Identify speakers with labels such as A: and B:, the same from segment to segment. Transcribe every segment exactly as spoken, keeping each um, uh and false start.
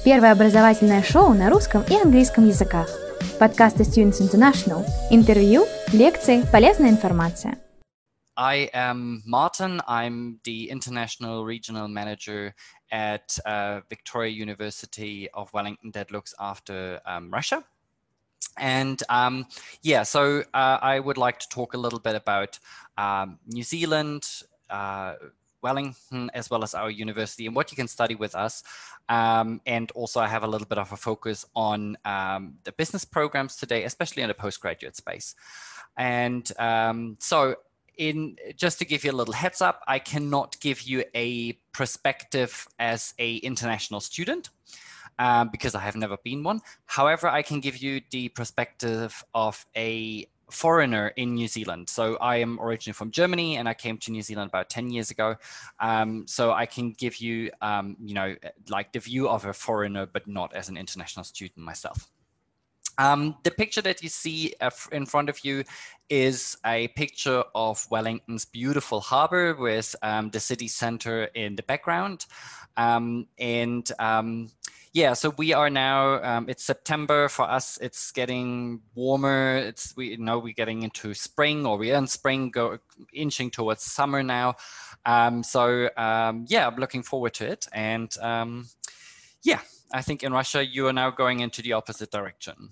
A: Первое образовательное шоу на русском и английском языках. Подкасты Students International. Интервью, лекции, полезная информация.
B: I am Martin. I'm the International Regional Manager at uh, Victoria University of Wellington that looks after um, Russia. And um, yeah, so uh, I would like to talk a little bit about um, New Zealand, uh, Wellington, as well as our university and what you can study with us. Um, and also I have a little bit of a focus on um, the business programs today, especially in the postgraduate space. And um, so in just to give you a little heads up, I cannot give you a perspective as a international student. Um, because I have never been one. However, I can give you the perspective of a foreigner in New Zealand. So I am originally from Germany and I came to New Zealand about ten years ago. Um, so I can give you, um, you know, like the view of a foreigner, but not as an international student myself. Um, the picture that you see in front of you is a picture of Wellington's beautiful harbor with um, the city center in the background. Um, and um, yeah, so we are now, um, it's September for us, it's getting warmer. It's, we you know, we're getting into spring, or we're in spring, go inching towards summer now. Um, so um, yeah, I'm looking forward to it. And um, yeah, I think in Russia, you are now going into the opposite direction.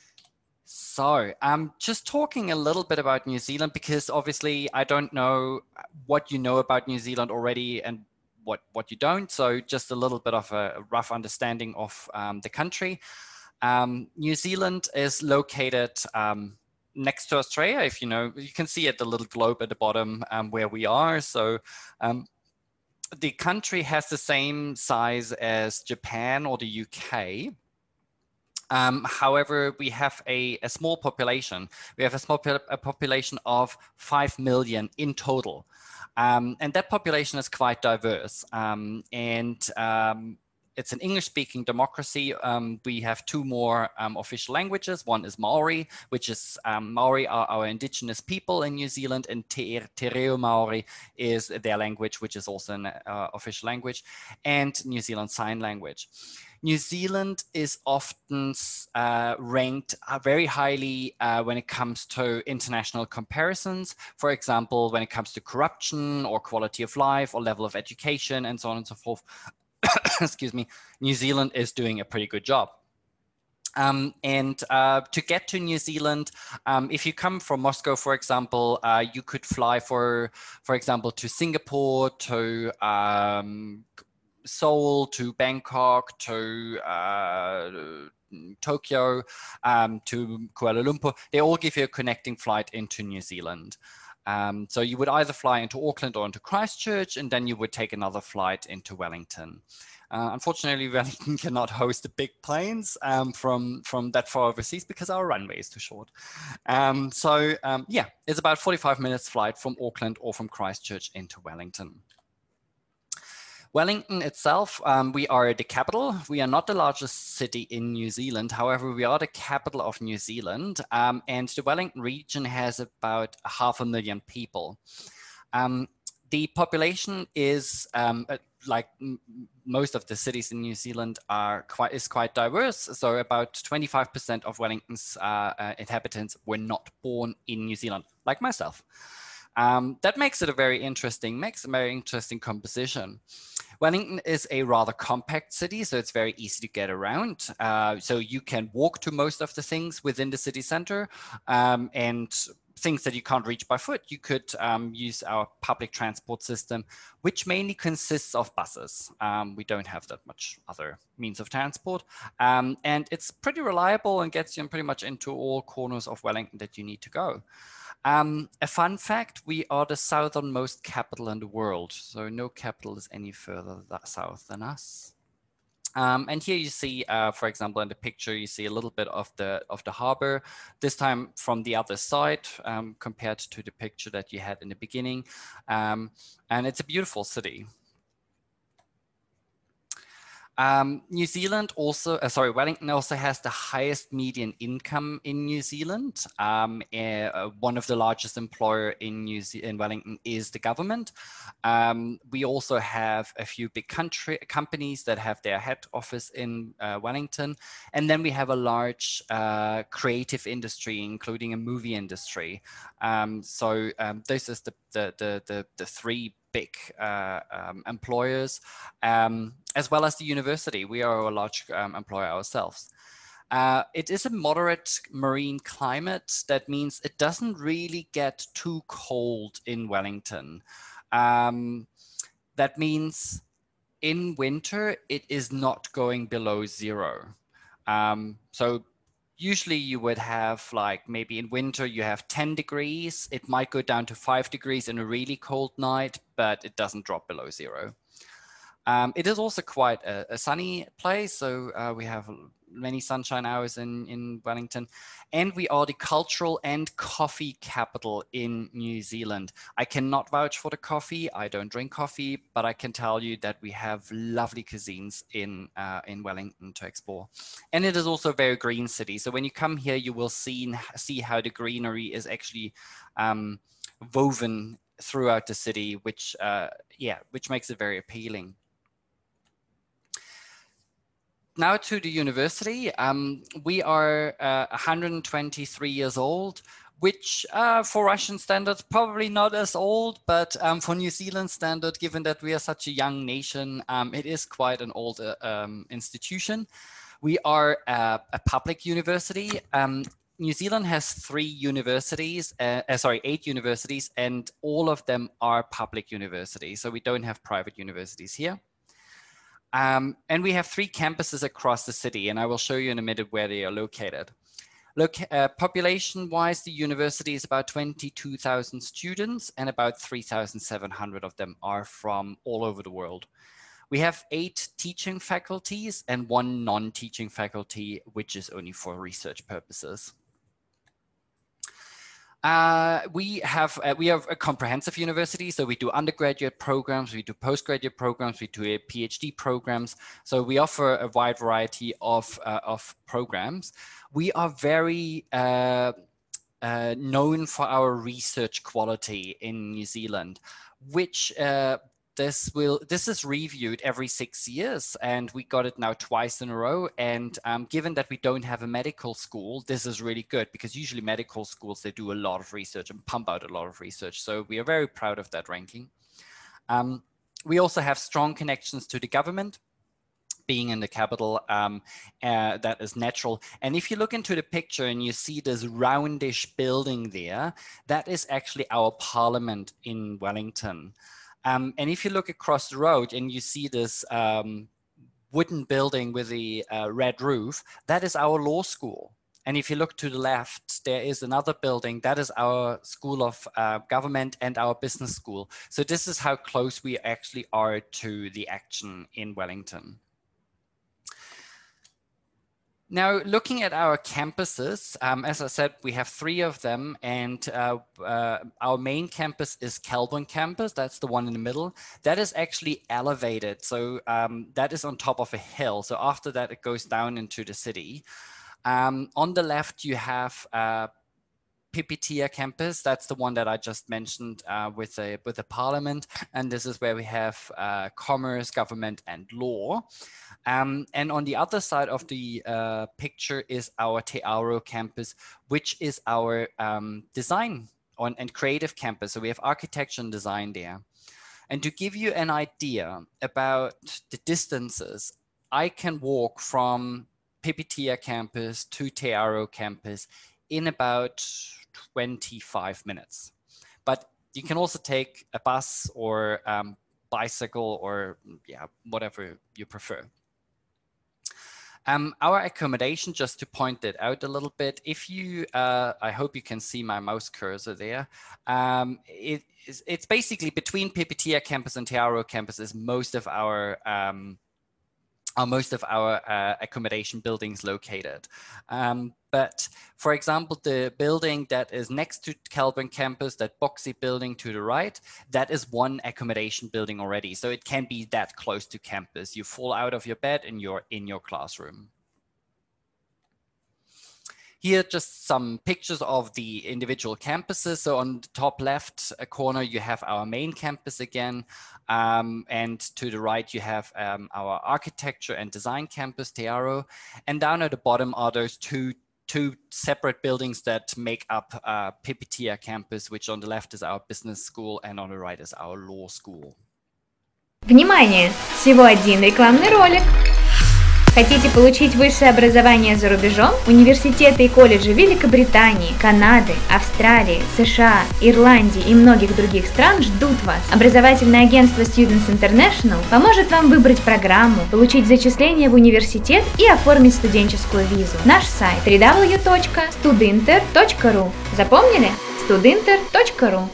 B: So I'm um, just talking a little bit about New Zealand, because obviously I don't know what you know about New Zealand already and what, what you don't. So just a little bit of a rough understanding of um, the country. Um, New Zealand is located um, next to Australia. If you know, you can see it, the little globe at the bottom um, where we are. So um, the country has the same size as Japan or the U K. Um, however, we have a, a small population. We have a small a population of five million in total. Um, and that population is quite diverse. Um, and um, it's an English-speaking democracy. Um, we have two more um, official languages. One is Maori, which is um, Maori are our indigenous people in New Zealand, and Te, Te Reo Maori is their language, which is also an uh, official language, and New Zealand Sign Language. New Zealand is often uh, ranked uh, very highly uh, when it comes to international comparisons. For example, when it comes to corruption or quality of life or level of education and so on and so forth. Excuse me, New Zealand is doing a pretty good job. Um, and uh, to get to New Zealand, um, if you come from Moscow, for example, uh, you could fly for, for example, to Singapore, to um, Seoul, to Bangkok, to uh, Tokyo, um, to Kuala Lumpur. They all give you a connecting flight into New Zealand. Um, so you would either fly into Auckland or into Christchurch, and then you would take another flight into Wellington. Uh, unfortunately, Wellington cannot host the big planes um, from, from that far overseas because our runway is too short. Um, so um, yeah, it's about forty-five minutes flight from Auckland or from Christchurch into Wellington. Wellington itself, um, we are the capital. We are not the largest city in New Zealand. However, we are the capital of New Zealand. Um, and the Wellington region has about half a million people. Um, the population is, um, like most of the cities in New Zealand, are quite, is quite diverse. So about twenty-five percent of Wellington's uh, uh, inhabitants were not born in New Zealand, like myself. Um, that makes it a very interesting, makes a very interesting composition. Wellington is a rather compact city, so it's very easy to get around. Uh, so you can walk to most of the things within the city center, um, and things that you can't reach by foot, you could um, use our public transport system, which mainly consists of buses. Um, we don't have that much other means of transport. Um, and it's pretty reliable and gets you pretty much into all corners of Wellington that you need to go. Um, a fun fact, we are the southernmost capital in the world. So no capital is any further that south than us. Um, and here you see, uh, for example, in the picture, you see a little bit of the of the harbor, this time from the other side um, compared to the picture that you had in the beginning. Um, and it's a beautiful city. Um, New Zealand also, uh, sorry, Wellington also has the highest median income in New Zealand. Um, uh, one of the largest employer in New Ze in Wellington is the government. Um, we also have a few big country companies that have their head office in uh, Wellington. And then we have a large uh, creative industry, including a movie industry. Um, so um, this is the, the, the, the, the three big uh, um, employers, um, as well as the university. We are a large um, employer ourselves. Uh, it is a moderate marine climate. That means it doesn't really get too cold in Wellington. Um, that means in winter, it is not going below zero. Um, so usually you would have like maybe in winter you have ten degrees. It might go down to five degrees in a really cold night, but it doesn't drop below zero. Um, it is also quite a, a sunny place. So uh, we have many sunshine hours in, in Wellington, and we are the cultural and coffee capital in New Zealand. I cannot vouch for the coffee. I don't drink coffee, but I can tell you that we have lovely cuisines in, uh, in Wellington to explore. And it is also a very green city. So when you come here, you will see, see how the greenery is actually um, woven throughout the city, which, uh, yeah, which makes it very appealing. Now to the university. Um, we are uh, one hundred twenty-three years old, which uh, for Russian standards, probably not as old, but um, for New Zealand standard, given that we are such a young nation, um, it is quite an old uh, um, institution. We are uh, a public university. Um, New Zealand has three universities, uh, uh, sorry, eight universities, and all of them are public universities. So we don't have private universities here. Um, and we have three campuses across the city, and I will show you in a minute where they are located. Look, uh, population-wise, the university is about twenty-two thousand students, and about three thousand seven hundred of them are from all over the world. We have eight teaching faculties and one non-teaching faculty, which is only for research purposes. Uh, we have uh, we have a comprehensive university, so we do undergraduate programs, we do postgraduate programs, we do PhD programs. So we offer a wide variety of uh, of programs. We are very uh, uh, known for our research quality in New Zealand, which uh, this will this is reviewed every six years, and we got it now twice in a row. And um, given that we don't have a medical school, this is really good, because usually medical schools, they do a lot of research and pump out a lot of research. So we are very proud of that ranking. Um, we also have strong connections to the government. Being in the capital, um, uh, that is natural. And if you look into the picture and you see this roundish building there, that is actually our parliament in Wellington. Um, and if you look across the road and you see this um, wooden building with the uh, red roof, that is our law school. And if you look to the left, there is another building, that is our School of uh, Government and our business school. So this is how close we actually are to the action in Wellington. Now, looking at our campuses, um, as I said, we have three of them, and uh, uh, our main campus is Kelburn campus. That's the one in the middle. That is actually elevated. So um, that is on top of a hill. So after that, it goes down into the city. Um, on the left, you have uh, Pipitea campus. That's the one that I just mentioned uh, with, a, with the parliament. And this is where we have uh, commerce, government, and law. Um, and on the other side of the uh, picture is our Te Auro campus, which is our um, design on, and creative campus. So we have architecture and design there. And to give you an idea about the distances, I can walk from Pipitea campus to Te Auro campus in about twenty-five minutes. But you can also take a bus or um, bicycle or yeah, whatever you prefer. Um, our accommodation, just to point it out a little bit, if you, uh, I hope you can see my mouse cursor there. Um, it is, it's basically between Pipitea campus and Te Auro campus is most of our um, are most of our uh, accommodation buildings located. Um, but for example, the building that is next to Kelburn campus, that boxy building to the right, that is one accommodation building already. So it can be that close to campus. You fall out of your bed and you're in your classroom. Here, just some pictures of the individual campuses. So on the top left corner, you have our main campus again. Um, and to the right, you have um, our architecture and design campus, Tearo. And down at the bottom are those two, two separate buildings that make up uh, Pipitia campus, which on the left is our business school and on the right is our law school.
A: Внимание! Всего один рекламный ролик. Хотите получить высшее образование за рубежом? Университеты и колледжи Великобритании, Канады, Австралии, США, Ирландии и многих других стран ждут вас. Образовательное агентство Students International поможет вам выбрать программу, получить зачисление в университет и оформить студенческую визу. Наш сайт дабл ю дабл ю дабл ю точка студинтер точка ру. Запомнили? студинтер точка ру.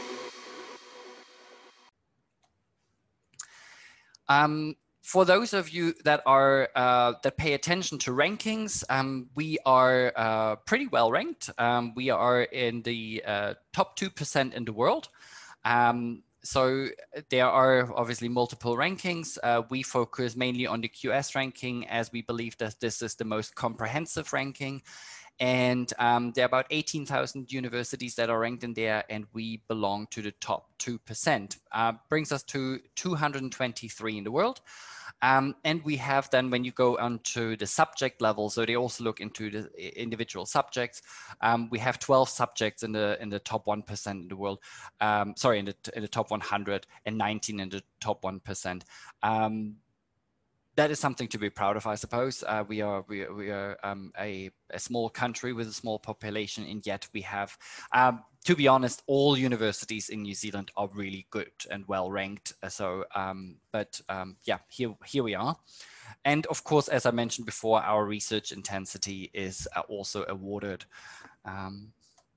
B: Um, For those of you that are uh, that pay attention to rankings, um, we are uh, pretty well ranked. Um, we are in the uh, top two percent in the world. Um, so there are obviously multiple rankings. Uh, we focus mainly on the Q S ranking as we believe that this is the most comprehensive ranking. And um, there are about eighteen thousand universities that are ranked in there, and we belong to the top two percent. Uh, brings us to two hundred twenty-three in the world. Um, and we have then, when you go onto the subject level, so they also look into the individual subjects. Um, we have twelve subjects in the in the top one percent in the world. Um, sorry, in the in the top one hundred, and nineteen in the top one percent. Um, that is something to be proud of, I suppose. Uh, we are we, we are um, a, a small country with a small population, and yet we have, um, to be honest, all universities in New Zealand are really good and well ranked. So, um, but um, yeah, here here we are. And of course, as I mentioned before, our research intensity is uh, also awarded. Um,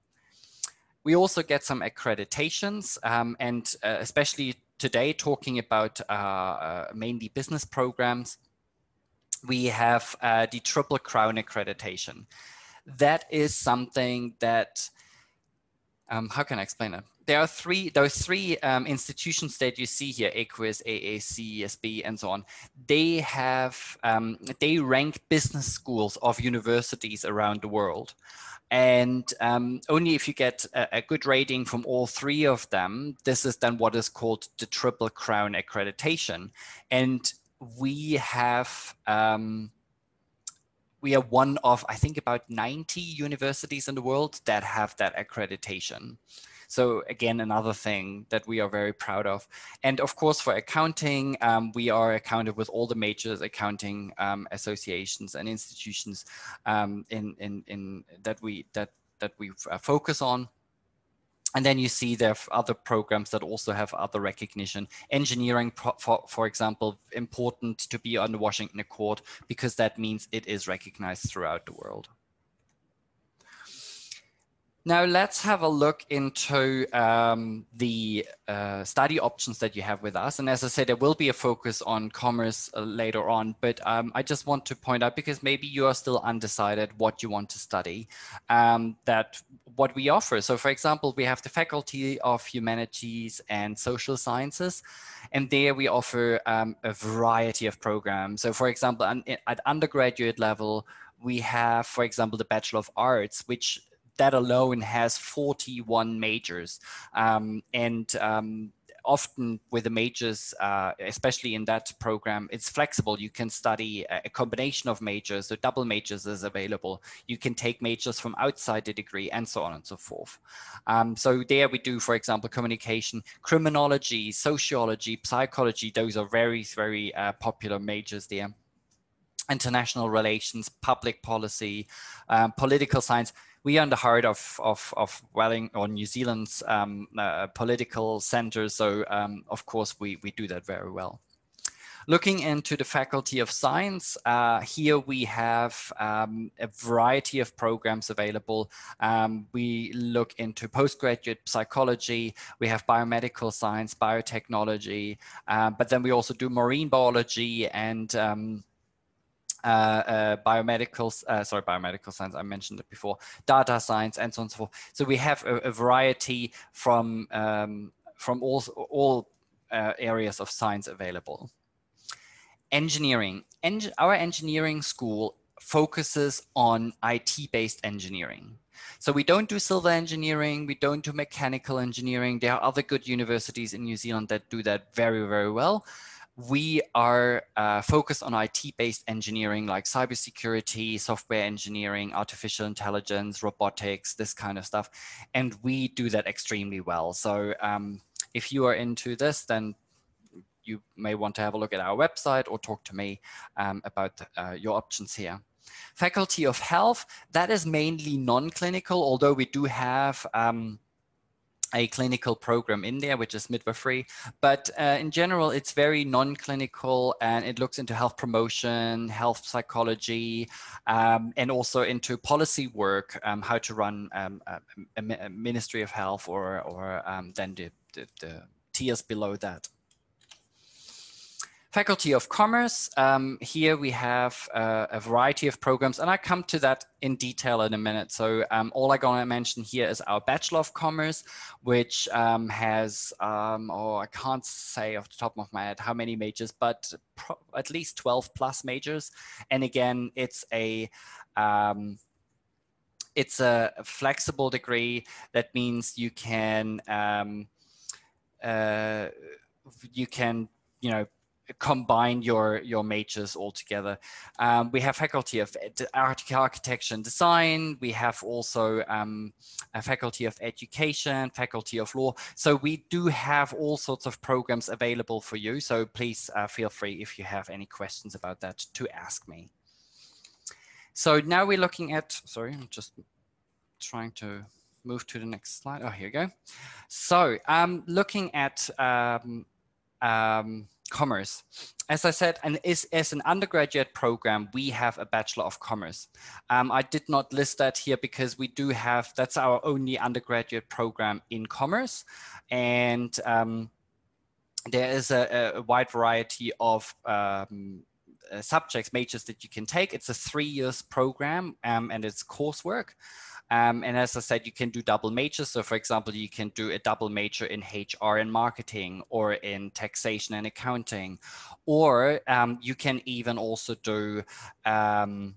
B: we also get some accreditations, um, and uh, especially today, talking about uh, uh, mainly business programs, we have uh, the Triple Crown accreditation. That is something that, um, how can I explain it? There are three, those three um, institutions that you see here, AQUIS, A A C, E S B, and so on. They have, um, they rank business schools of universities around the world. And um, only if you get a, a good rating from all three of them, this is then what is called the Triple Crown accreditation. And we have, um, we are one of, I think, about ninety universities in the world that have that accreditation. So again, another thing that we are very proud of. And of course, for accounting, um, we are accounted with all the major accounting um, associations and institutions um, in, in, in that we that that we uh, focus on. And then you see there are other programs that also have other recognition. Engineering, for, for example, important to be on the Washington Accord because that means it is recognized throughout the world. Now let's have a look into um, the uh, study options that you have with us. And as I said, there will be a focus on commerce uh, later on, but um, I just want to point out, because maybe you are still undecided what you want to study, um, that what we offer. So for example, we have the Faculty of Humanities and Social Sciences, and there we offer um, a variety of programs. So for example, at undergraduate level, we have, for example, the Bachelor of Arts, which that alone has forty-one majors, um, and um, often with the majors, uh, especially in that program, it's flexible. You can study a combination of majors, so double majors is available. You can take majors from outside the degree and so on and so forth. Um, so there we do, for example, communication, criminology, sociology, psychology. Those are very, very uh, popular majors there. International relations, public policy, um, political science. We are in the heart of, of, of Welling or New Zealand's um, uh, political center. So um, of course, we, we do that very well. Looking into the Faculty of Science, uh, here we have um, a variety of programs available. Um, we look into postgraduate psychology, we have biomedical science, biotechnology, uh, but then we also do marine biology and um, Uh, uh, biomedical, uh, sorry, biomedical science, I mentioned it before, data science, and so on and so forth. So we have a, a variety from, um, from all, all uh, areas of science available. Engineering. Eng our engineering school focuses on I T-based engineering. So we don't do civil engineering, we don't do mechanical engineering. There are other good universities in New Zealand that do that very, very well. We are uh, focused on I T-based engineering like cybersecurity, software engineering, artificial intelligence, robotics, this kind of stuff. And we do that extremely well. So um, if you are into this, then you may want to have a look at our website or talk to me um, about uh, your options here. Faculty of Health, that is mainly non-clinical, although we do have um, a clinical program in there, which is midwifery. But uh, in general, it's very non-clinical, and it looks into health promotion, health psychology, um, and also into policy work, um, how to run um, a, a Ministry of Health, or, or um, then the, the, the tiers below that. Faculty of Commerce, um, here we have uh, a variety of programs, and I come to that in detail in a minute. So um, all I'm going to mention here is our Bachelor of Commerce, which um, has, um, oh, I can't say off the top of my head how many majors, but pro at least twelve plus majors. And again, it's a, um, it's a flexible degree. That means you can, um, uh, you can, you know, combine your your majors all together. Um, we have Faculty of Architecture and Design. We have also um, a Faculty of Education, Faculty of Law. So we do have all sorts of programs available for you. So please uh, feel free, if you have any questions about that, to ask me. So now we're looking at, sorry, I'm just trying to move to the next slide. Oh, here we go. So um, looking at um, um, Commerce. As I said, and is as an undergraduate program, we have a Bachelor of Commerce. Um, I did not list that here because we do have, that's our only undergraduate program in commerce. And um, there is a, a wide variety of um, uh, subjects, majors that you can take. It's a three years program um, and it's coursework. Um, and as I said, you can do double majors. So for example, you can do a double major in H R and marketing, or in taxation and accounting, or um, you can even also do um,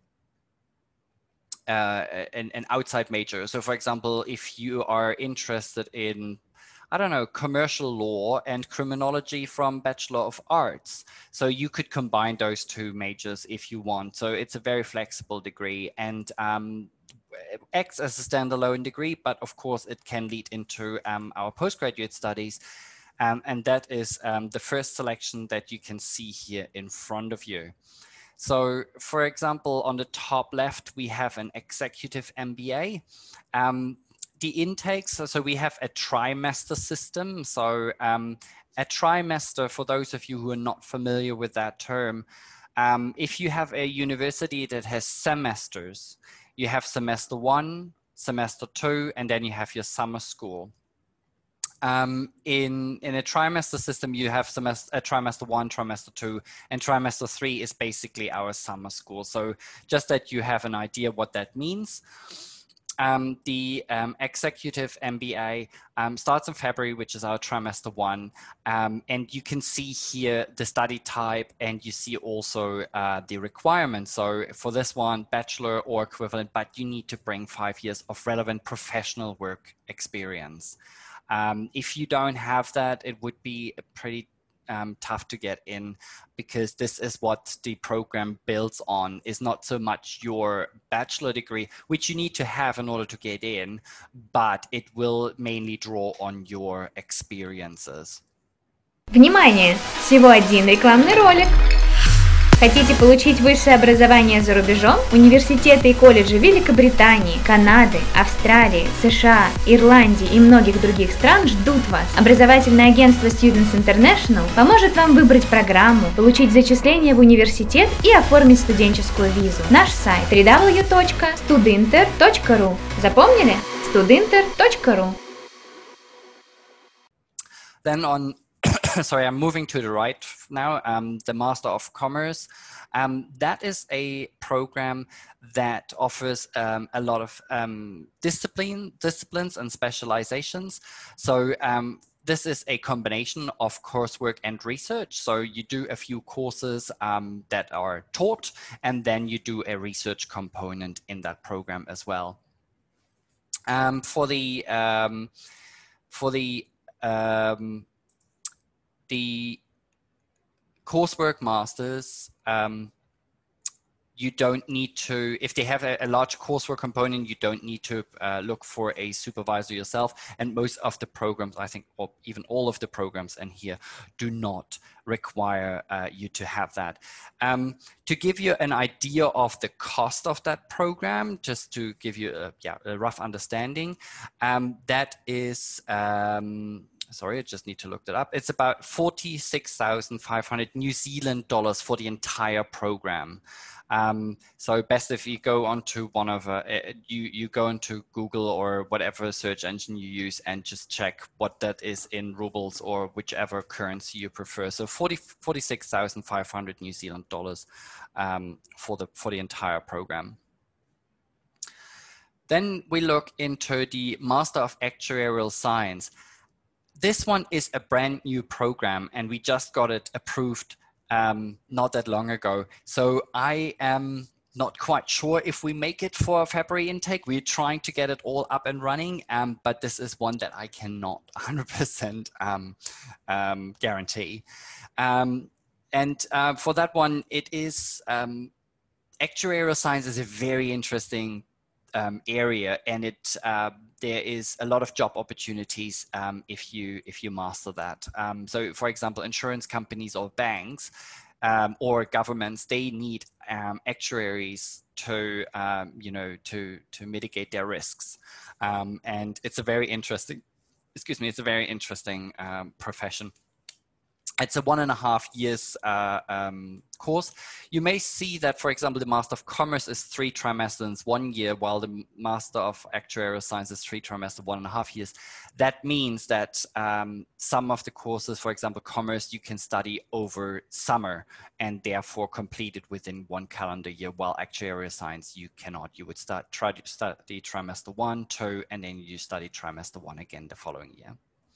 B: uh, an, an outside major. So for example, if you are interested in, I don't know, commercial law and criminology from Bachelor of Arts. So you could combine those two majors if you want. So it's a very flexible degree, and um, acts as a standalone degree, but of course it can lead into um, our postgraduate studies. Um, and that is um, the first selection that you can see here in front of you. So for example, on the top left, we have an executive M B A. Um, the intakes, so, so we have a trimester system. So um, a trimester, for those of you who are not familiar with that term, um, if you have a university that has semesters, you have semester one, semester two, and then you have your summer school. Um, in, in a trimester system, you have semester, a trimester one, trimester two, and trimester three is basically our summer school. So just that you have an idea what that means. Um, the um, executive M B A um, starts in February, which is our trimester one. Um, and you can see here the study type, and you see also uh, the requirements. So for this one, bachelor or equivalent, but you need to bring five years of relevant professional work experience. Um, if you don't have that, it would be a pretty Um, tough to get in, because this is what the program builds on, is not so much your bachelor degree, which you need to have in order to get in, but it will mainly draw on your experiences.
A: Внимание! Всего один рекламный ролик. Хотите получить высшее образование за рубежом? Университеты и колледжи Великобритании, Канады, Австралии, США, Ирландии и многих других стран ждут вас. Образовательное агентство Students International поможет вам выбрать программу, получить зачисление в университет и оформить студенческую визу. Наш сайт дабл ю дабл ю дабл ю точка студинтер точка ру. Запомнили? студинтер точка ру.
B: Then on sorry, I'm moving to the right now, um, the Master of Commerce. Um, that is a program that offers um, a lot of um, discipline, disciplines and specializations. So um, this is a combination of coursework and research. So you do a few courses um, that are taught, and then you do a research component in that program as well. Um, for the um, for the um, the coursework masters, um, you don't need to, if they have a, a large coursework component, you don't need to uh, look for a supervisor yourself. And most of the programs, I think, or even all of the programs in here do not require uh, you to have that. Um, to give you an idea of the cost of that program, just to give you a, yeah, a rough understanding, um, that is, um, sorry, I just need to look that up. It's about forty-six thousand five hundred New Zealand dollars for the entire program. Um, so best if you go onto one of, uh, you, you go into Google or whatever search engine you use and just check what that is in rubles or whichever currency you prefer. So forty-six thousand five hundred New Zealand dollars um, for, the, for the entire program. Then we look into the Master of Actuarial Science. This one is a brand new program and we just got it approved um, not that long ago. So I am not quite sure if we make it for a February intake. We're trying to get it all up and running, um, but this is one that I cannot one hundred percent um, um, guarantee. Um, and uh, for that one, it is, um, actuarial science is a very interesting um, area, and it uh, there is a lot of job opportunities um, if you if you master that. Um, so, for example, insurance companies or banks um, or governments, they need um, actuaries to um, you know to to mitigate their risks, um, and it's a very interesting. Excuse me, it's a very interesting um, profession. It's a one and a half years uh, um, course. You may see that, for example, the Master of Commerce is three trimesters, one year, while the Master of Actuarial Science is three trimesters, one and a half years. That means that um, some of the courses, for example, Commerce, you can study over summer and therefore complete it within one calendar year, while Actuarial Science, you cannot. You would start try to study trimester one, two, and then you study trimester one again the following year.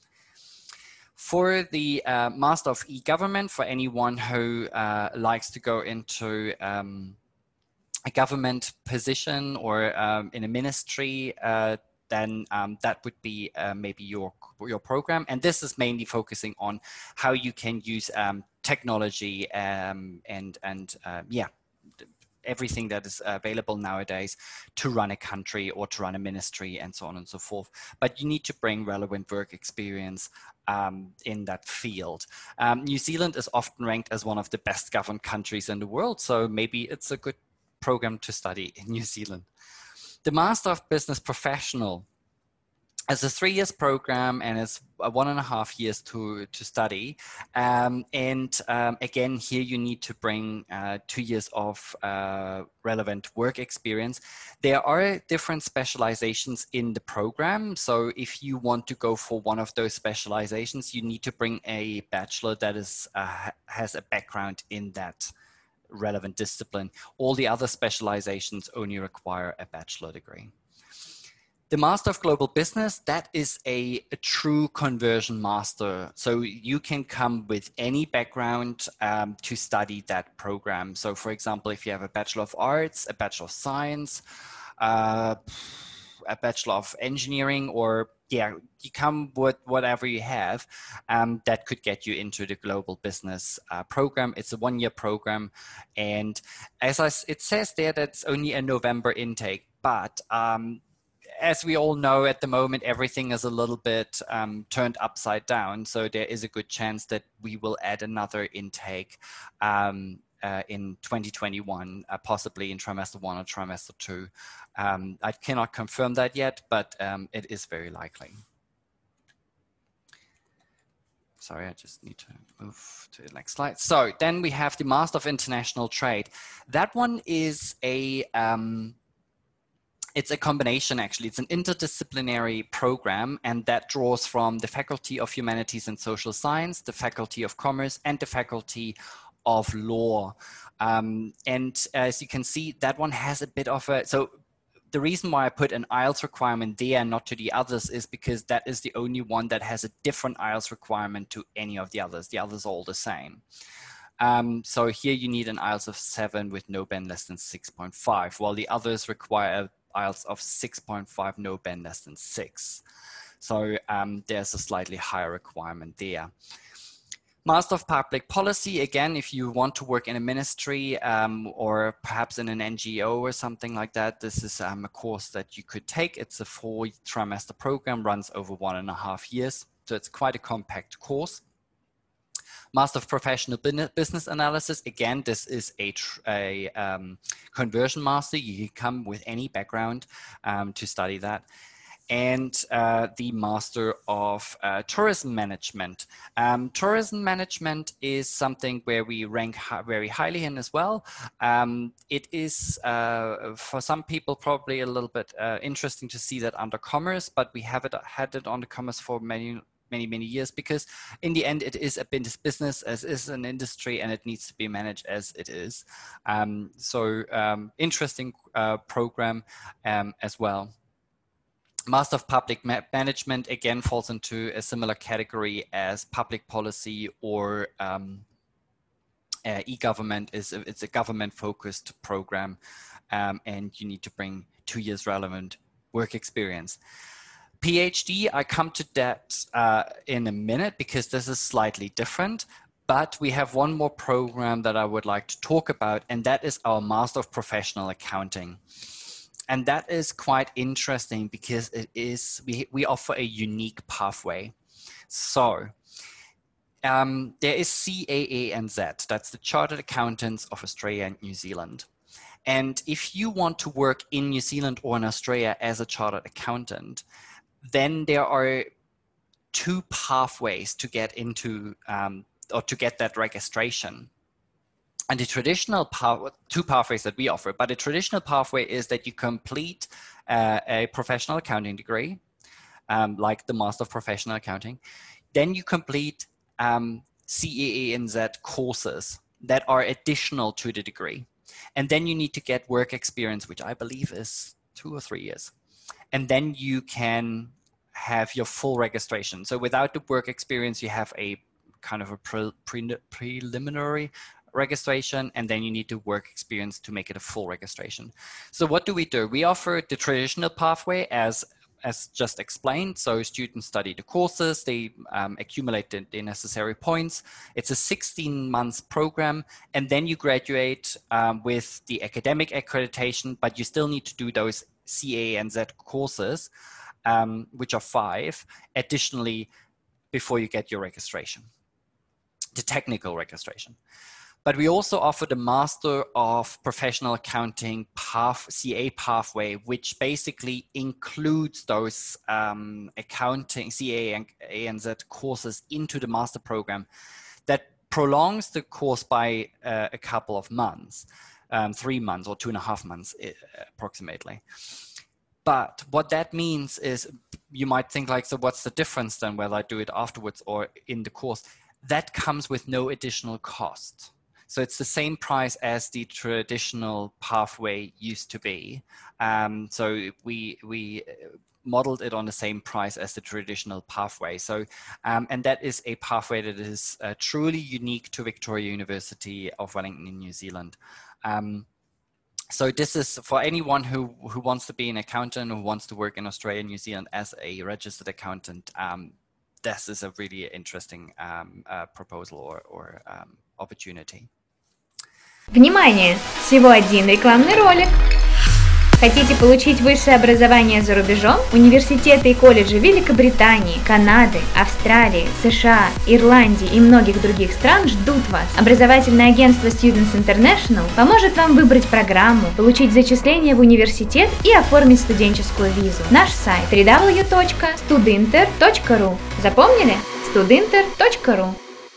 B: For the uh, Master of E-Government, for anyone who uh, likes to go into um, a government position or um, in a ministry, uh, then um, that would be uh, maybe your, your program. And this is mainly focusing on how you can use um, technology um, and, and uh, yeah, everything that is available nowadays to run a country or to run a ministry and so on and so forth. But you need to bring relevant work experience um, in that field. Um, New Zealand is often ranked as one of the best governed countries in the world, so maybe it's a good program to study in New Zealand. The Master of Business Professional is a three years program and it's one and a half years to, to study. Um, and um, again, here you need to bring uh, two years of uh, relevant work experience. There are different specializations in the program. So if you want to go for one of those specializations, you need to bring a bachelor that is uh, has a background in that relevant discipline. All the other specializations only require a bachelor degree. The Master of Global Business, that is a, a true conversion master. So you can come with any background um, to study that program. So for example, if you have a Bachelor of Arts, a Bachelor of Science, uh, a Bachelor of Engineering, or yeah, you come with whatever you have, um, that could get you into the Global Business uh, program. It's a one-year program. And as I, it says there, that's only a November intake, but um, as we all know, at the moment, everything is a little bit um, turned upside down. So there is a good chance that we will add another intake um, uh, in twenty twenty-one, uh, possibly in trimester one or trimester two. Um, I cannot confirm that yet, but um, it is very likely. Sorry, I just need to move to the next slide. So then we have the Master of International Trade. That one is a... Um, it's a combination, actually. It's an interdisciplinary program, and that draws from the Faculty of Humanities and Social Science, the Faculty of Commerce, and the Faculty of Law. Um, and as you can see, that one has a bit of a, so the reason why I put an I E L T S requirement there and not to the others is because that is the only one that has a different I E L T S requirement to any of the others. The others are all the same. Um, so here you need an I E L T S of seven with no band less than six point five, while the others require I E L T S of six point five, no band less than six. So um, there's a slightly higher requirement there. Master of Public Policy, again, if you want to work in a ministry um, or perhaps in an N G O or something like that, this is um, a course that you could take. It's a four trimester program, runs over one and a half years. So it's quite a compact course. Master of Professional Business Analysis, again, this is a, a um, conversion master. You can come with any background um, to study that. And uh, the Master of uh, Tourism Management. Um, tourism Management is something where we rank hi very highly in as well. Um, it is, uh, for some people, probably a little bit uh, interesting to see that under Commerce, but we have it, had it under Commerce for many, many, many years, because in the end, it is a business, as is an industry, and it needs to be managed as it is. Um, so um, interesting uh, program um, as well. Master of Public Ma Management, again, falls into a similar category as public policy or um, uh, e-government. Is It's a government-focused program, um, and you need to bring two years relevant work experience. PhD, I come to that uh, in a minute because this is slightly different, but we have one more program that I would like to talk about, and that is our Master of Professional Accounting. And that is quite interesting because it is, we, we offer a unique pathway. So um, there is C A A N Z, that's the Chartered Accountants of Australia and New Zealand. And if you want to work in New Zealand or in Australia as a chartered accountant, then there are two pathways to get into um, or to get that registration. And the traditional path, two pathways that we offer, but the traditional pathway is that you complete uh, a professional accounting degree, um, like the Master of Professional Accounting. Then you complete um, C A A N Z courses that are additional to the degree. And then you need to get work experience, which I believe is two or three years. And then you can have your full registration. So without the work experience, you have a kind of a pre pre preliminary registration, and then you need to work experience to make it a full registration. So what do we do? We offer the traditional pathway as as just explained. So students study the courses, they um, accumulate the, the necessary points. It's a sixteen months program, and then you graduate um, with the academic accreditation, but you still need to do those C A A N Z courses, um, which are five, additionally, before you get your registration, the technical registration. But we also offer the Master of Professional Accounting path, C A pathway, which basically includes those um, accounting C A A N Z courses into the master program that prolongs the course by uh, a couple of months, um, three months or two and a half months approximately. But what that means is, you might think like, so what's the difference then whether I do it afterwards or in the course? That comes with no additional cost. So it's the same price as the traditional pathway used to be. Um, so we, we modeled it on the same price as the traditional pathway. So, um, and that is a pathway that is uh, truly unique to Victoria University of Wellington in New Zealand. Um, so this is for anyone who, who wants to be an accountant, who wants to work in Australia and New Zealand as a registered accountant. Um, this is a really interesting um, uh, proposal or, or um, opportunity.
A: Внимание! Всего один рекламный ролик. Хотите получить высшее образование за рубежом? Университеты и колледжи Великобритании, Канады, Австралии, США, Ирландии и многих других стран ждут вас. Образовательное агентство Students International поможет вам выбрать программу, получить зачисление в университет и оформить студенческую визу. Наш сайт дабл ю дабл ю дабл ю точка студинтер точка ру. Запомнили? студинтер точка ру.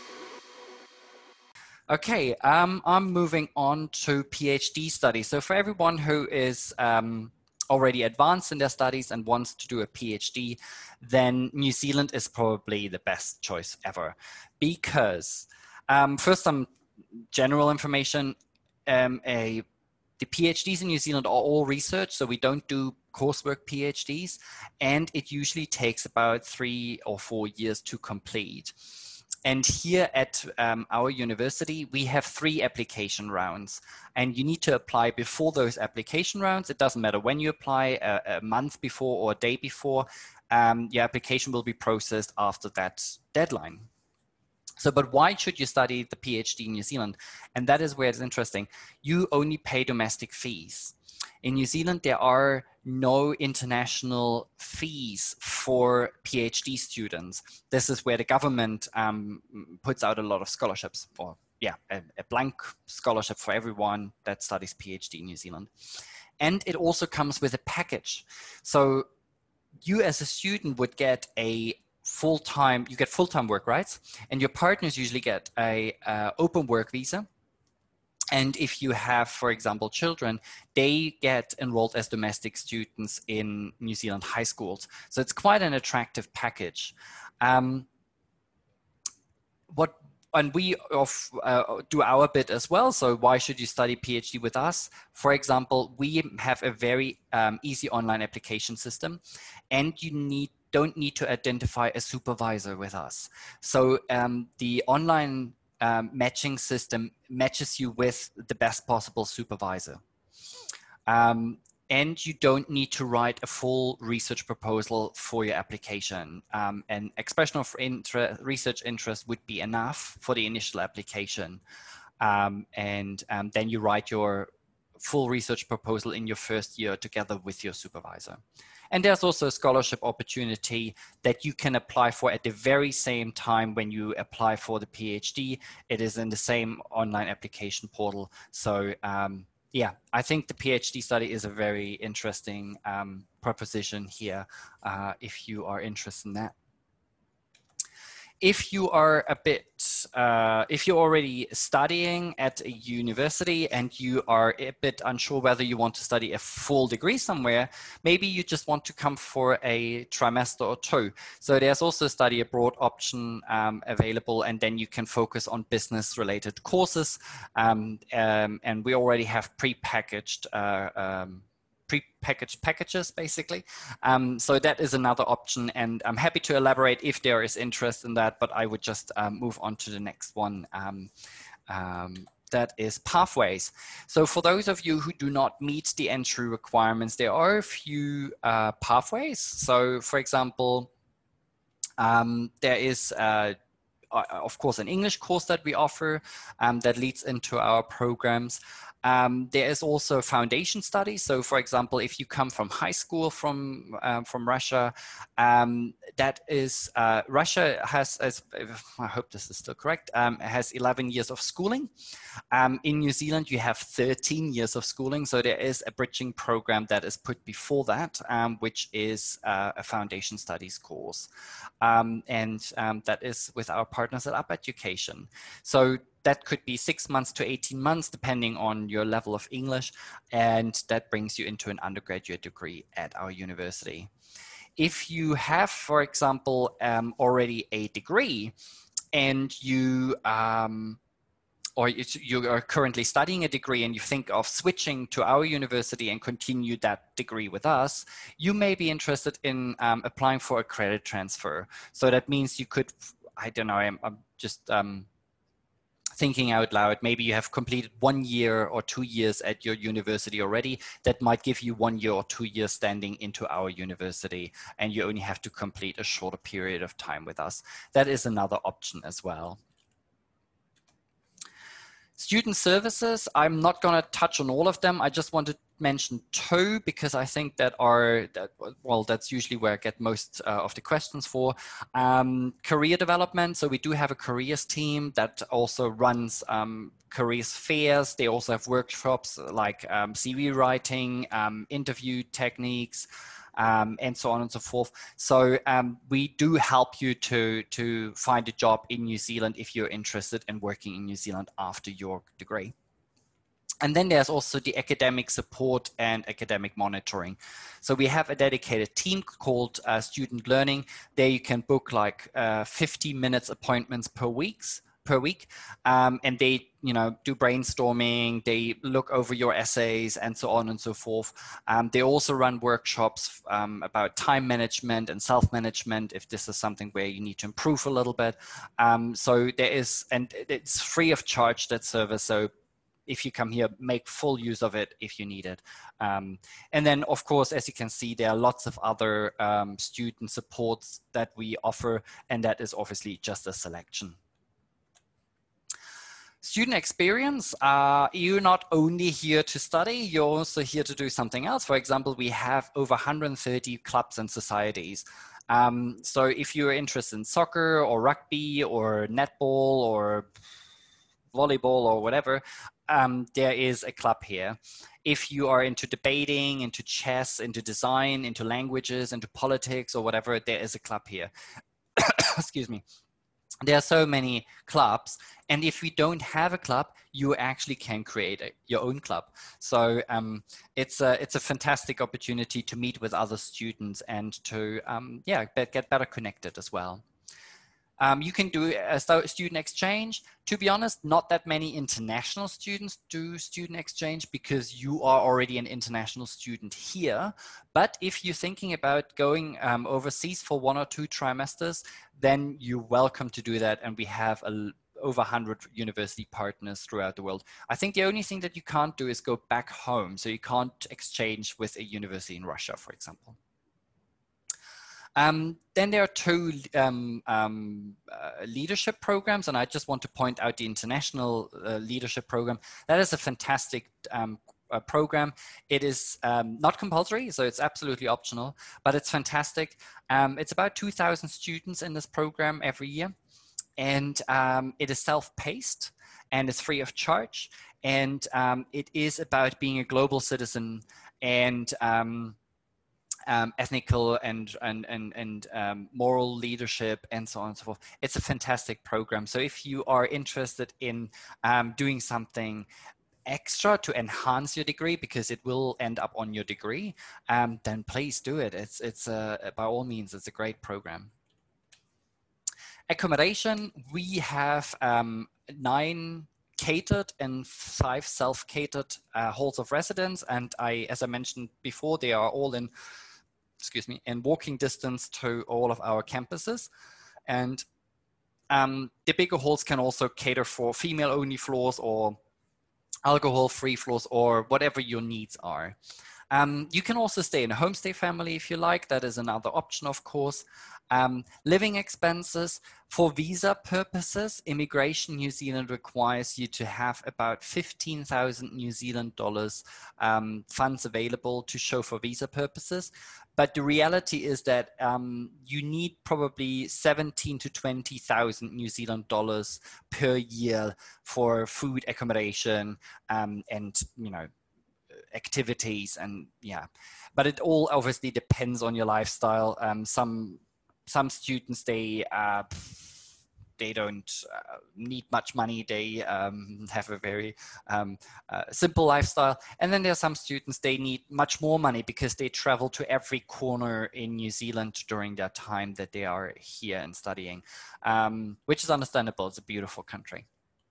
B: Okay, um, I'm moving on to PhD studies. So for everyone who is um, already advanced in their studies and wants to do a PhD, then New Zealand is probably the best choice ever. Because um, first, some general information, um, a, the PhDs in New Zealand are all research, so we don't do coursework PhDs, and it usually takes about three or four years to complete. And here at um, our university, we have three application rounds, and you need to apply before those application rounds. It doesn't matter when you apply, a, a month before or a day before, um, your application will be processed after that deadline. So, but why should you study the PhD in New Zealand? And that is where it's interesting. You only pay domestic fees. In New Zealand, there are no international fees for PhD students. This is where the government um, puts out a lot of scholarships, or yeah, a, a blank scholarship for everyone that studies PhD in New Zealand. And it also comes with a package. So you as a student would get a full-time, you get full-time work rights, and your partners usually get a uh, open work visa. And if you have, for example, children, they get enrolled as domestic students in New Zealand high schools. So it's quite an attractive package. Um, what, and we of, uh, do our bit as well. So why should you study PhD with us? For example, we have a very um, easy online application system, and you need don't need to identify a supervisor with us. So um, the online Um, matching system matches you with the best possible supervisor. Um, and you don't need to write a full research proposal for your application. Um, an expression of inter research interest would be enough for the initial application. Um, and um, then you write your full research proposal in your first year together with your supervisor. And there's also a scholarship opportunity that you can apply for at the very same time when you apply for the PhD. It is in the same online application portal. So um, yeah, I think the PhD study is a very interesting um, proposition here uh, if you are interested in that. If you are a bit, uh, if you're already studying at a university and you are a bit unsure whether you want to study a full degree somewhere, maybe you just want to come for a trimester or two. So there's also a study abroad option um, available, and then you can focus on business related courses. Um, um, and we already have pre-packaged uh, um, pre-packaged packages, basically. Um, so that is another option, and I'm happy to elaborate if there is interest in that, but I would just um, move on to the next one. Um, um, that is pathways. So for those of you who do not meet the entry requirements, there are a few uh, pathways. So for example, um, there is uh, of course an English course that we offer um, that leads into our programs. Um, there is also foundation studies. So for example, if you come from high school from, um, from Russia, um, that is, uh, Russia has, as, I hope this is still correct, um, has eleven years of schooling. Um, in New Zealand, you have thirteen years of schooling. So there is a bridging program that is put before that, um, which is uh, a foundation studies course. Um, and um, that is with our partners at Up Education. So that could be six months to eighteen months, depending on your level of English, and that brings you into an undergraduate degree at our university. If you have, for example, um, already a degree and you, um, or you are currently studying a degree and you think of switching to our university and continue that degree with us, you may be interested in um, applying for a credit transfer. So that means you could, I don't know, I'm, I'm just, um, thinking out loud, maybe you have completed one year or two years at your university already. That might give you one year or two years standing into our university, and you only have to complete a shorter period of time with us. That is another option as well. Student services, I'm not going to touch on all of them. I just want to mention two because I think that are, that, well, that's usually where I get most uh, of the questions for. Um, career development. So we do have a careers team that also runs um, careers fairs. They also have workshops like um, C V writing, um, interview techniques, Um, and so on and so forth. So um, we do help you to, to find a job in New Zealand if you're interested in working in New Zealand after your degree. And then there's also the academic support and academic monitoring. So we have a dedicated team called uh, Student Learning. There you can book like uh, fifty minutes appointments per weeks per week, um, and they, you know, do brainstorming. They look over your essays and so on and so forth. Um, they also run workshops um, about time management and self-management if this is something where you need to improve a little bit. Um, so there is, and it's free of charge, that service. So if you come here, make full use of it if you need it. Um, and then, of course, as you can see, there are lots of other um, student supports that we offer, and that is obviously just a selection. Student experience, uh, you're not only here to study, you're also here to do something else. For example, we have over one hundred thirty clubs and societies. Um, so if you're interested in soccer or rugby or netball or volleyball or whatever, um, there is a club here. If you are into debating, into chess, into design, into languages, into politics or whatever, there is a club here. Excuse me. There are so many clubs, and if we don't have a club, you actually can create a, your own club. So um, it's a it's a fantastic opportunity to meet with other students and to um, yeah get better connected as well. Um, you can do a student exchange. To be honest, not that many international students do student exchange because you are already an international student here. But if you're thinking about going um, overseas for one or two trimesters, then you're welcome to do that. And we have a, over one hundred university partners throughout the world. I think the only thing that you can't do is go back home. So you can't exchange with a university in Russia, for example. Um, then there are two um, um, uh, leadership programs, and I just want to point out the International uh, Leadership Program. That is a fantastic um, uh, program. It is um, not compulsory, so it's absolutely optional, but it's fantastic. Um, it's about two thousand students in this program every year, and um, it is self-paced and it's free of charge, and um, it is about being a global citizen and um, Um, ethnical and and and, and um, moral leadership and so on and so forth. It's a fantastic program. So if you are interested in um, doing something extra to enhance your degree, because it will end up on your degree, um, then please do it. It's it's a, by all means, it's a great program. Accommodation, we have um, nine catered and five self-catered uh, halls of residence, and I, as I mentioned before, they are all in excuse me, in walking distance to all of our campuses. And um, the bigger halls can also cater for female-only floors or alcohol-free floors or whatever your needs are. Um, you can also stay in a homestay family if you like. That is another option, of course. Um, living expenses for visa purposes, Immigration New Zealand requires you to have about fifteen thousand New Zealand dollars um, funds available to show for visa purposes. But the reality is that um, you need probably seventeen to twenty thousand New Zealand dollars per year for food, accommodation, um, and, you know, activities, and yeah, but it all obviously depends on your lifestyle. Um, some some students, they uh, they don't uh, need much money. They um, have a very um, uh, simple lifestyle, and then there are some students, they need much more money because they travel to every corner in New Zealand during their time that they are here and studying, um, which is understandable. It's a beautiful country.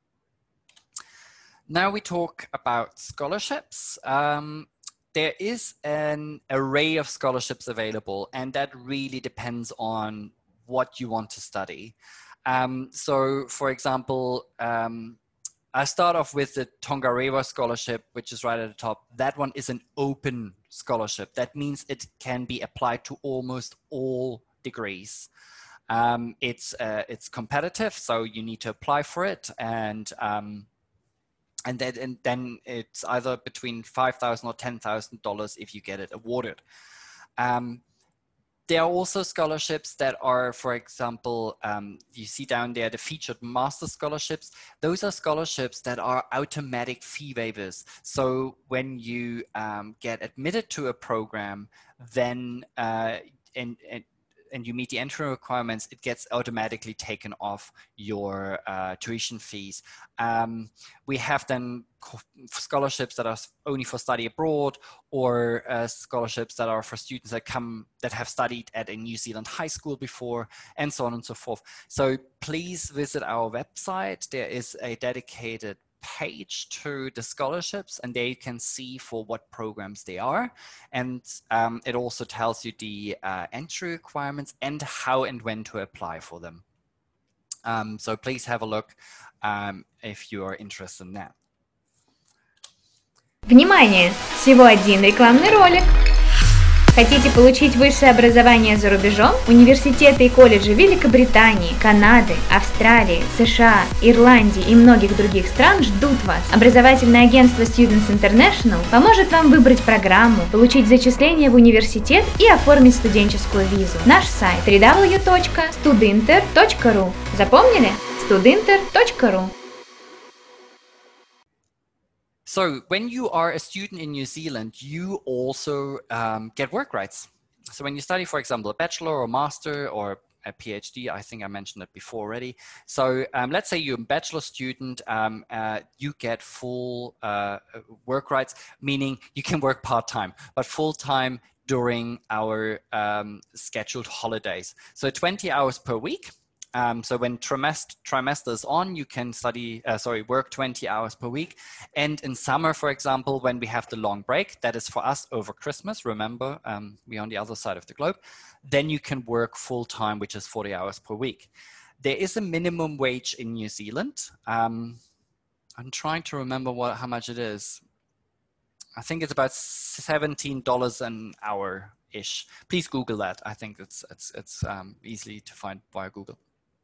B: Now we talk about scholarships. Um, there is an array of scholarships available, and that really depends on what you want to study. Um, so, for example, um, I start off with the Tongarewa scholarship, which is right at the top. That one is an open scholarship. That means it can be applied to almost all degrees. Um, it's, uh, it's competitive, so you need to apply for it, and um, And then, and then it's either between five thousand dollars or ten thousand dollars if you get it awarded. Um, there are also scholarships that are, for example, um, you see down there, the featured master scholarships. Those are scholarships that are automatic fee waivers. So when you um, get admitted to a program, then uh, and, and and you meet the entry requirements, it gets automatically taken off your uh, tuition fees. Um, we have then scholarships that are only for study abroad, or uh, scholarships that are for students that come that have studied at a New Zealand high school before, and so on and so forth. So please visit our website. There is a dedicated page to the scholarships, and there you can see for what programs they are, and um, it also tells you the uh, entry requirements and how and when to apply for them. Um, so please have a look um, if you are interested in that.
A: Внимание! Всего один рекламный ролик. Хотите получить высшее образование за рубежом? Университеты и колледжи Великобритании, Канады, Австралии, США, Ирландии и многих других стран ждут вас. Образовательное агентство Students International поможет вам выбрать программу, получить зачисление в университет и оформить студенческую визу. Наш сайт дабл ю дабл ю дабл ю точка студинтер точка ру. Запомнили? студинтер точка ру.
B: So when you are a student in New Zealand, you also um, get work rights. So when you study, for example, a bachelor or master or a PhD, I think I mentioned it before already. So um, let's say you're a bachelor student, um, uh, you get full uh, work rights, meaning you can work part-time, but full-time during our um, scheduled holidays. So twenty hours per week. Um, so when trimester, trimester is on, you can study, uh, sorry, work twenty hours per week. And in summer, for example, when we have the long break, that is for us over Christmas, remember, um, we're on the other side of the globe, then you can work full time, which is forty hours per week. There is a minimum wage in New Zealand. Um, I'm trying to remember what, how much it is. I think it's about seventeen dollars an hour-ish. Please Google that. I think it's, it's, it's um, easily to find via Google.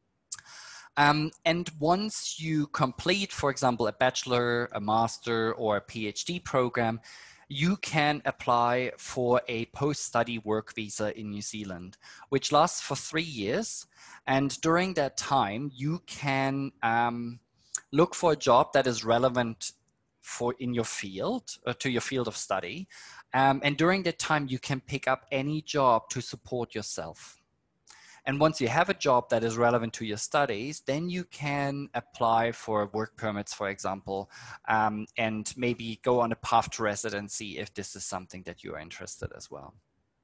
B: Um, and once you complete, for example, a bachelor, a master, or a PhD program, you can apply for a post-study work visa in New Zealand, which lasts for three years. And during that time, you can um, look for a job that is relevant for in your field, uh, to your field of study. Um, and during that time, you can pick up any job to support yourself. And once you have a job that is relevant to your studies, then you can apply for work permits, for example, um, and maybe go on a path to residency if this is something that you are interested as well.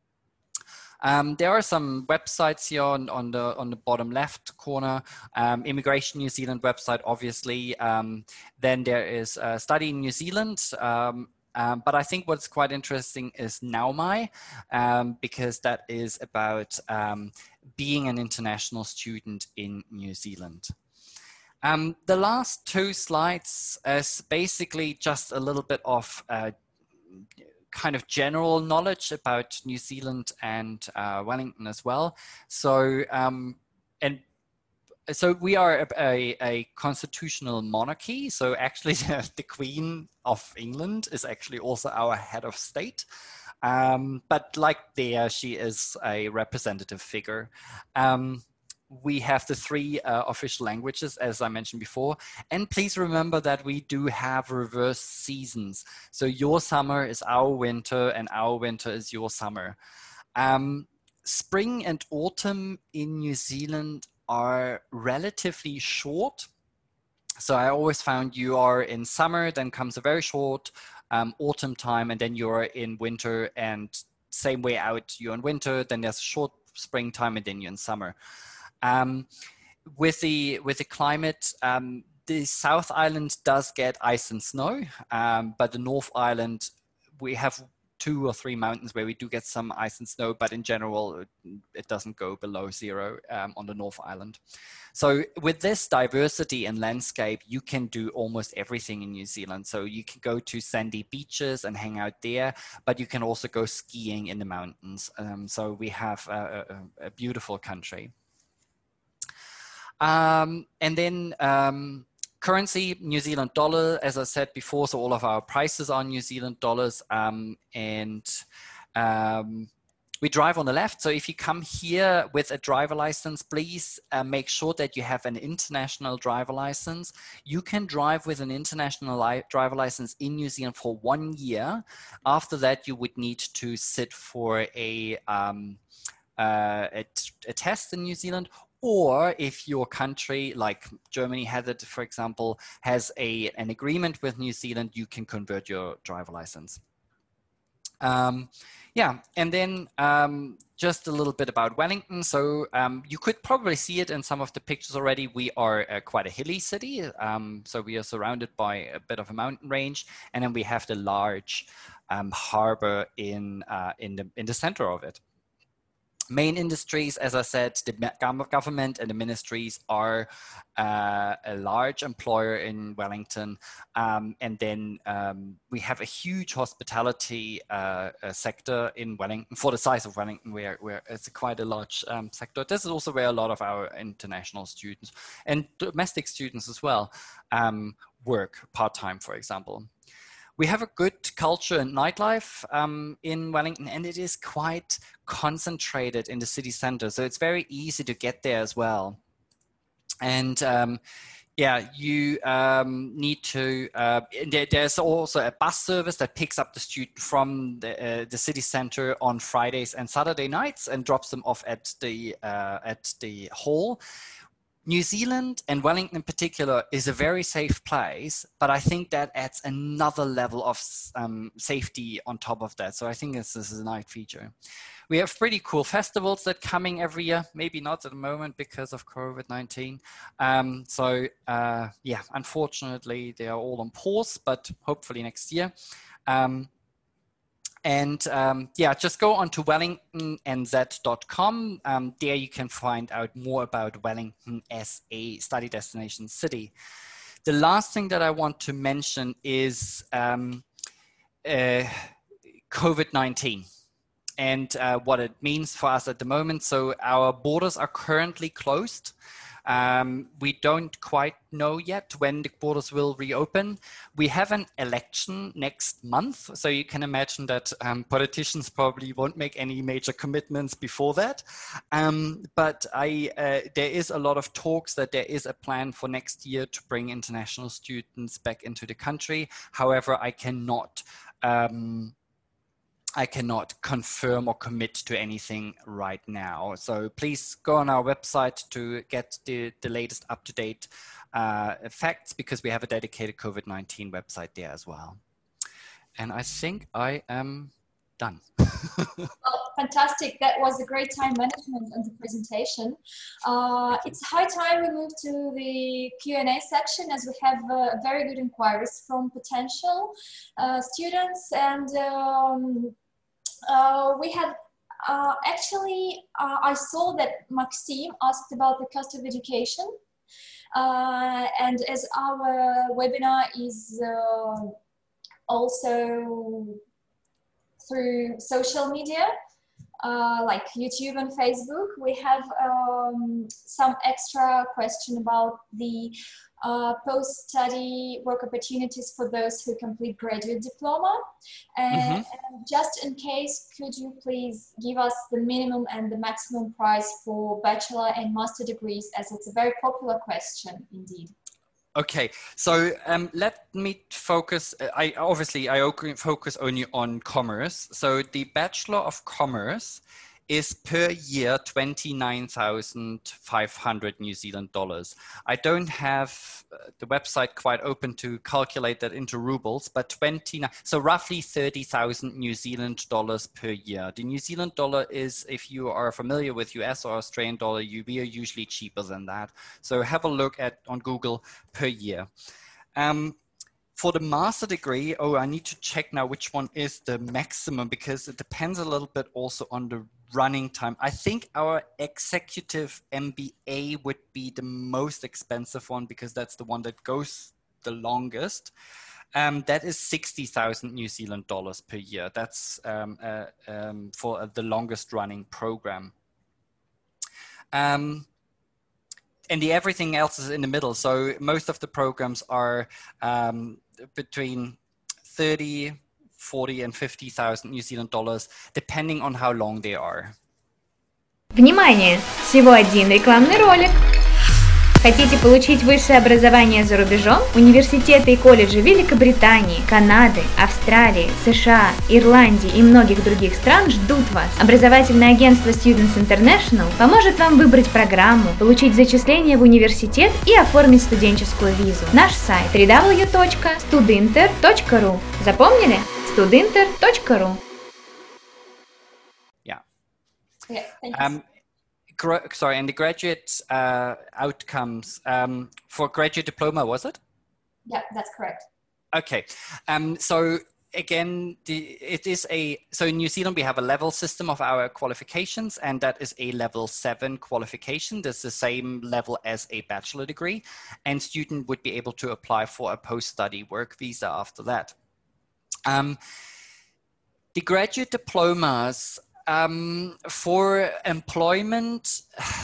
B: Um, there are some websites here on, on, the, on the bottom left corner. Um, Immigration New Zealand website, obviously. Um, then there is uh, Study in New Zealand. Um, Um, but I think what's quite interesting is Naumai, um, because that is about um, being an international student in New Zealand. Um, the last two slides is basically just a little bit of uh, kind of general knowledge about New Zealand and uh, Wellington as well. So, um, and So we are a, a, a constitutional monarchy. So actually the, the Queen of England is actually also our head of state. Um, but like there, she is a representative figure. Um, we have the three uh, official languages, as I mentioned before. And please remember that we do have reverse seasons. So your summer is our winter and our winter is your summer. Um, spring and autumn in New Zealand are relatively short. So I always found you are in summer, then comes a very short um, autumn time, and then you're in winter, and same way out, you're in winter, then there's a short springtime, and then you're in summer. Um, with the with the climate, um, the South Island does get ice and snow, um, but the North Island, we have two or three mountains where we do get some ice and snow, but in general, it doesn't go below zero um, on the North Island. So with this diversity in landscape, you can do almost everything in New Zealand. So you can go to sandy beaches and hang out there, but you can also go skiing in the mountains. Um, so we have a, a, a beautiful country. Um, and then, um, currency, New Zealand dollar, as I said before, so all of our prices are New Zealand dollars. Um, and um, we drive on the left. So if you come here with a driver license, please uh, make sure that you have an international driver license. You can drive with an international li driver license in New Zealand for one year. After that, you would need to sit for a um, uh, a, a test in New Zealand, or if your country, like Germany had it, for example, has a, an agreement with New Zealand, you can convert your driver license. Um, yeah, and then um, just a little bit about Wellington. So um, you could probably see it in some of the pictures already. We are uh, quite a hilly city. Um, so we are surrounded by a bit of a mountain range, and then we have the large um, harbor in, uh, in, the, in the center of it. Main industries, as I said, the government and the ministries are uh, a large employer in Wellington. Um, and then um, we have a huge hospitality uh, uh, sector in Wellington. For the size of Wellington, where, where it's a quite a large um, sector. This is also where a lot of our international students and domestic students as well um, work part-time, for example. We have a good culture and nightlife um, in Wellington, and it is quite concentrated in the city center. So it's very easy to get there as well. And um, yeah, you um, need to, uh, there, there's also a bus service that picks up the student from the, uh, the city center on Fridays and Saturday nights and drops them off at the, uh, at the hall. New Zealand, and Wellington in particular, is a very safe place, but I think that adds another level of um, safety on top of that. So I think this, this is a nice feature. We have pretty cool festivals that are coming every year, maybe not at the moment because of COVID nineteen. Um, so uh, yeah, unfortunately, they are all on pause, but hopefully next year. Um, And um, yeah, just go on to wellington n z dot com. Um, there you can find out more about Wellington as a study destination city. The last thing that I want to mention is um, uh, COVID nineteen and uh, what it means for us at the moment. So our borders are currently closed. Um, we don't quite know yet when the borders will reopen. We have an election next month, so you can imagine that um, politicians probably won't make any major commitments before that. Um, but I, uh, there is a lot of talks that there is a plan for next year to bring international students back into the country. However, I cannot um, I cannot confirm or commit to anything right now. So please go on our website to get the, the latest up-to-date uh, facts, because we have a dedicated COVID nineteen website there as well. And I think I am done.
C: Well, fantastic. That was a great time management and the presentation. Uh, it's high time we move to the Q and A section, as we have uh, very good inquiries from potential uh, students. And um, uh, we had uh, actually, uh, I saw that Maxime asked about the cost of education. Uh, and as our webinar is uh, also through social media, uh, like YouTube and Facebook, we have um, some extra question about the uh, post-study work opportunities for those who complete graduate diploma. And, mm-hmm. and just in case, could you please give us the minimum and the maximum price for bachelor and master degrees, as it's a very popular question indeed.
B: Okay, so um, let me focus, I obviously I focus only on commerce. So the Bachelor of Commerce is per year twenty-nine thousand five hundred New Zealand dollars. I don't have the website quite open to calculate that into rubles, but twenty-nine, so roughly thirty thousand New Zealand dollars per year. The New Zealand dollar is, if you are familiar with U S or Australian dollar, we are usually cheaper than that. So have a look at on Google per year. Um, For the master degree, oh, I need to check now which one is the maximum, because it depends a little bit also on the running time. I think our executive M B A would be the most expensive one, because that's the one that goes the longest. Um, that is sixty thousand New Zealand dollars per year. That's um, uh, um, for uh, the longest running program. Um, And the everything else is in the middle. So most of the programs are um, between thirty, forty and fifty thousand New Zealand dollars, depending on how long they are.
A: Внимание! Всего один рекламный ролик. Хотите получить высшее образование за рубежом? Университеты и колледжи Великобритании, Канады, Австралии, США, Ирландии и многих других стран ждут вас. Образовательное агентство Students International поможет вам выбрать программу, получить зачисление в университет и оформить студенческую визу. Наш сайт дабл ю дабл ю дабл ю точка студинтер точка ру. Запомнили? студинтер точка ру.
B: Yeah.
C: Yeah, thank you.
B: Um, Sorry, and the graduate uh, outcomes um, for graduate diploma, was it?
C: Yeah, that's correct.
B: Okay, um, so again, the, it is a, so in New Zealand we have a level system of our qualifications, and that is a level seven qualification. That's the same level as a bachelor degree, and student would be able to apply for a post-study work visa after that. Um, the graduate diplomas, Um, for employment,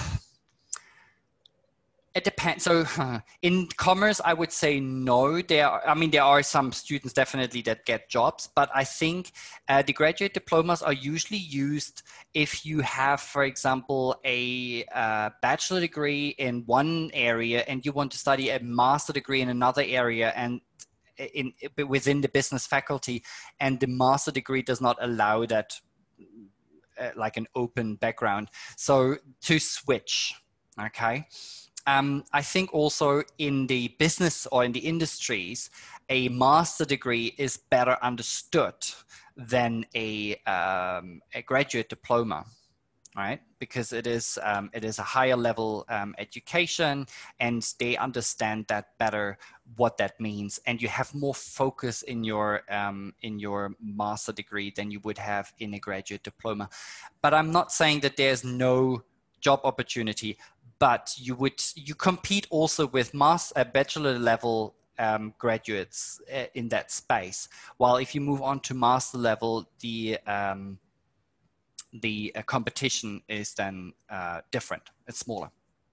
B: it depends. So in commerce, I would say no. There are, I mean, there are some students definitely that get jobs, but I think uh, the graduate diplomas are usually used if you have, for example, a uh, bachelor degree in one area and you want to study a master degree in another area, and in, within the business faculty, and the master degree does not allow that, Uh, like an open background. So to switch, okay. Um, I think also in the business or in the industries, a master degree is better understood than a, um, a graduate diploma, right? Because it is, um, it is a higher level um, education, and they understand that better, what that means, and you have more focus in your um, in your master degree than you would have in a graduate diploma. But I'm not saying that there's no job opportunity, but you would you compete also with master uh, bachelor level um, graduates uh, in that space. While if you move on to master level, the um, the uh, competition is then uh, different. It's smaller.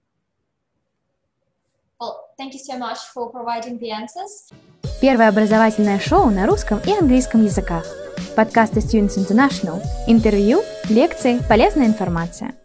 C: Well, thank you so much for providing the answers.
A: Первое образовательное шоу на русском и английском языках. Подкасты Students International. Интервью, лекции, полезная информация.